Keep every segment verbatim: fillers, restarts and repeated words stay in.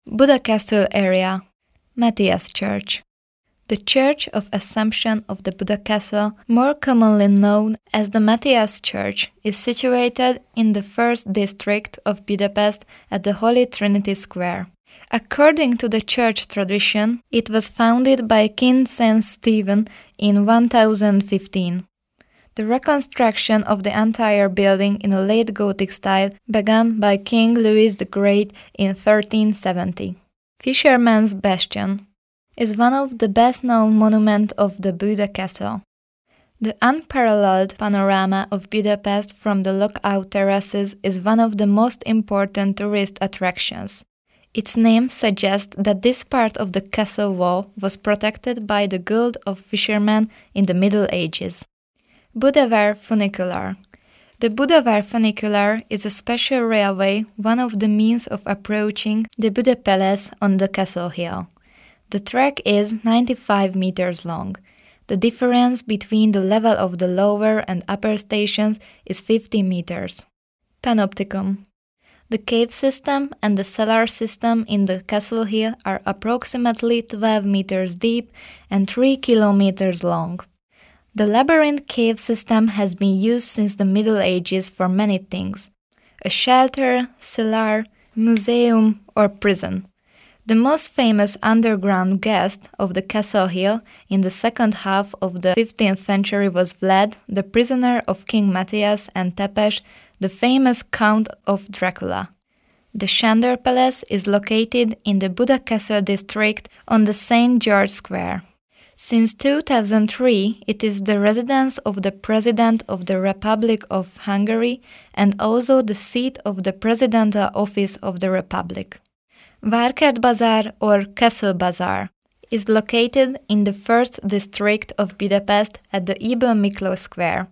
Buda Castle area. Matthias Church. The Church of Assumption of the Buda Castle, more commonly known as the Matthias Church, is situated in the first district of Budapest at the Holy Trinity Square. According to the church tradition, it was founded by King Saint Stephen in one thousand fifteen. The reconstruction of the entire building in a late Gothic style began by King Louis the Great in thirteen seventy. Fisherman's Bastion is one of the best-known monuments of the Buda Castle. The unparalleled panorama of Budapest from the lookout terraces is one of the most important tourist attractions. Its name suggests that this part of the castle wall was protected by the guild of fishermen in the Middle Ages. Budavar Funicular. The Budavar Funicular is a special railway, one of the means of approaching the Buda Palace on the castle hill. The track is ninety-five meters long. The difference between the level of the lower and upper stations is fifty meters. Panopticon. The cave system and the cellar system in the castle hill are approximately twelve meters deep and three kilometers long. The labyrinth cave system has been used since the Middle Ages for many things: a shelter, cellar, museum, or prison. The most famous underground guest of the castle hill in the second half of the fifteenth century was Vlad, the prisoner of King Matthias, and Tepes, the famous Count of Dracula. The Sándor Palace is located in the Buda Castle district on the Saint George Square. Since two thousand three, it is the residence of the President of the Republic of Hungary and also the seat of the Presidential Office of the Republic. Várkert Bazaar or Castle Bazaar is located in the first district of Budapest at the Ybl Miklós Square,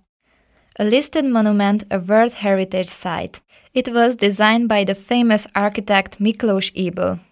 a listed monument, a World Heritage Site. It was designed by the famous architect Miklós Ybl.